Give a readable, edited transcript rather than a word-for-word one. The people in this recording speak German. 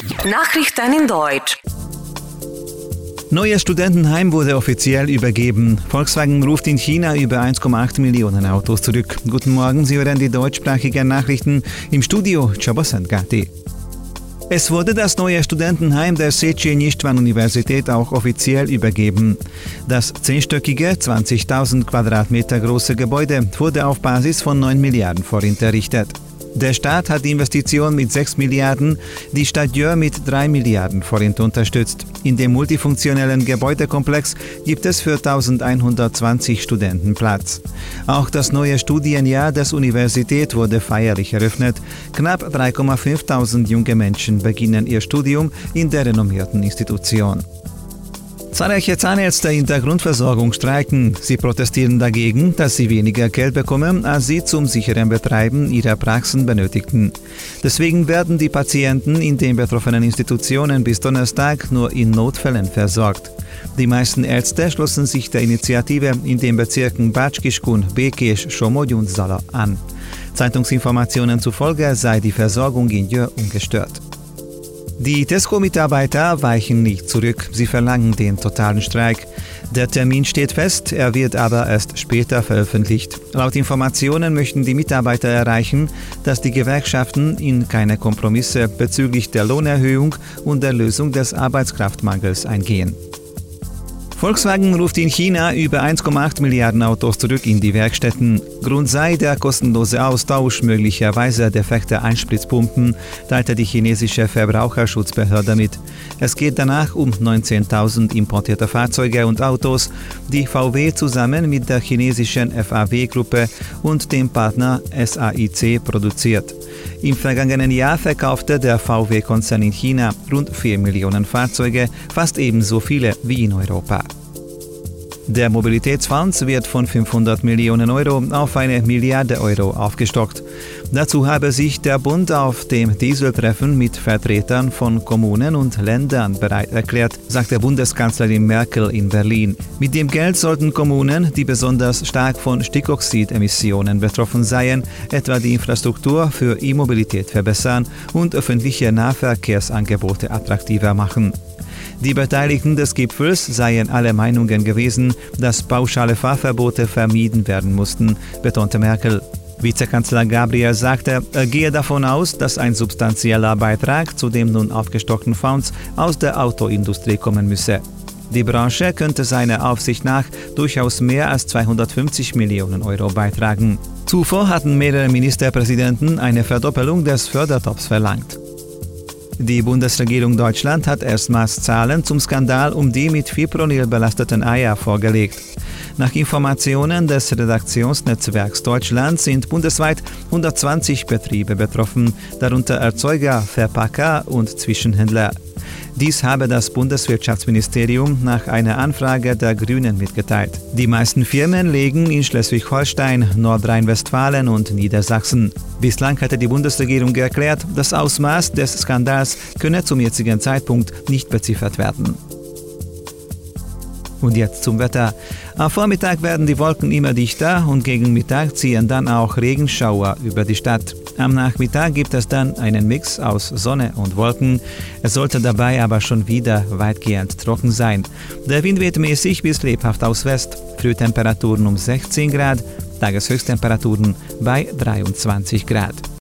Nachrichten in Deutsch. Neues Studentenheim wurde offiziell übergeben. Volkswagen ruft in China über 1,8 Millionen Autos zurück. Guten Morgen, Sie hören die deutschsprachigen Nachrichten im Studio Chabosengati. Es wurde das neue Studentenheim der Széchenyi-István-Universität auch offiziell übergeben. Das 10-stöckige, 20.000 Quadratmeter große Gebäude wurde auf Basis von 9 Milliarden Forint errichtet. Der Staat hat die Investition mit 6 Milliarden, die Stadt Győr mit 3 Milliarden Forint unterstützt. In dem multifunktionellen Gebäudekomplex gibt es für 1120 Studenten Platz. Auch das neue Studienjahr der Universität wurde feierlich eröffnet. Knapp 3.500 junge Menschen beginnen ihr Studium in der renommierten Institution. Zahlreiche Zahnärzte in der Grundversorgung streiken. Sie protestieren dagegen, dass sie weniger Geld bekommen, als sie zum sicheren Betreiben ihrer Praxen benötigten. Deswegen werden die Patienten in den betroffenen Institutionen bis Donnerstag nur in Notfällen versorgt. Die meisten Ärzte schlossen sich der Initiative in den Bezirken Bács-Kiskun, Békés, Somogy und Zala an. Zeitungsinformationen zufolge sei die Versorgung in Győr ungestört. Die Tesco-Mitarbeiter weichen nicht zurück, sie verlangen den totalen Streik. Der Termin steht fest, er wird aber erst später veröffentlicht. Laut Informationen möchten die Mitarbeiter erreichen, dass die Gewerkschaften in keine Kompromisse bezüglich der Lohnerhöhung und der Lösung des Arbeitskraftmangels eingehen. Volkswagen ruft in China über 1,8 Milliarden Autos zurück in die Werkstätten. Grund sei der kostenlose Austausch möglicherweise defekter Einspritzpumpen, teilte die chinesische Verbraucherschutzbehörde mit. Es geht danach um 19.000 importierte Fahrzeuge und Autos, die VW zusammen mit der chinesischen FAW-Gruppe und dem Partner SAIC produziert. Im vergangenen Jahr verkaufte der VW-Konzern in China rund 4 Millionen Fahrzeuge, fast ebenso viele wie in Europa. Der Mobilitätsfonds wird von 500 Millionen Euro auf 1 Milliarde Euro aufgestockt. Dazu habe sich der Bund auf dem Dieseltreffen mit Vertretern von Kommunen und Ländern bereit erklärt, sagte Bundeskanzlerin Merkel in Berlin. Mit dem Geld sollten Kommunen, die besonders stark von Stickoxidemissionen betroffen seien, etwa die Infrastruktur für E-Mobilität verbessern und öffentliche Nahverkehrsangebote attraktiver machen. Die Beteiligten des Gipfels seien alle Meinungen gewesen, dass pauschale Fahrverbote vermieden werden mussten, betonte Merkel. Vizekanzler Gabriel sagte, er gehe davon aus, dass ein substanzieller Beitrag zu dem nun aufgestockten Fonds aus der Autoindustrie kommen müsse. Die Branche könnte seiner Aufsicht nach durchaus mehr als 250 Millionen Euro beitragen. Zuvor hatten mehrere Ministerpräsidenten eine Verdoppelung des Fördertopfs verlangt. Die Bundesregierung Deutschland hat erstmals Zahlen zum Skandal um die mit Fipronil belasteten Eier vorgelegt. Nach Informationen des Redaktionsnetzwerks Deutschland sind bundesweit 120 Betriebe betroffen, darunter Erzeuger, Verpacker und Zwischenhändler. Dies habe das Bundeswirtschaftsministerium nach einer Anfrage der Grünen mitgeteilt. Die meisten Firmen liegen in Schleswig-Holstein, Nordrhein-Westfalen und Niedersachsen. Bislang hatte die Bundesregierung erklärt, das Ausmaß des Skandals könne zum jetzigen Zeitpunkt nicht beziffert werden. Und jetzt zum Wetter. Am Vormittag werden die Wolken immer dichter und gegen Mittag ziehen dann auch Regenschauer über die Stadt. Am Nachmittag gibt es dann einen Mix aus Sonne und Wolken. Es sollte dabei aber schon wieder weitgehend trocken sein. Der Wind weht mäßig bis lebhaft aus West. Frühtemperaturen um 16 Grad, Tageshöchsttemperaturen bei 23 Grad.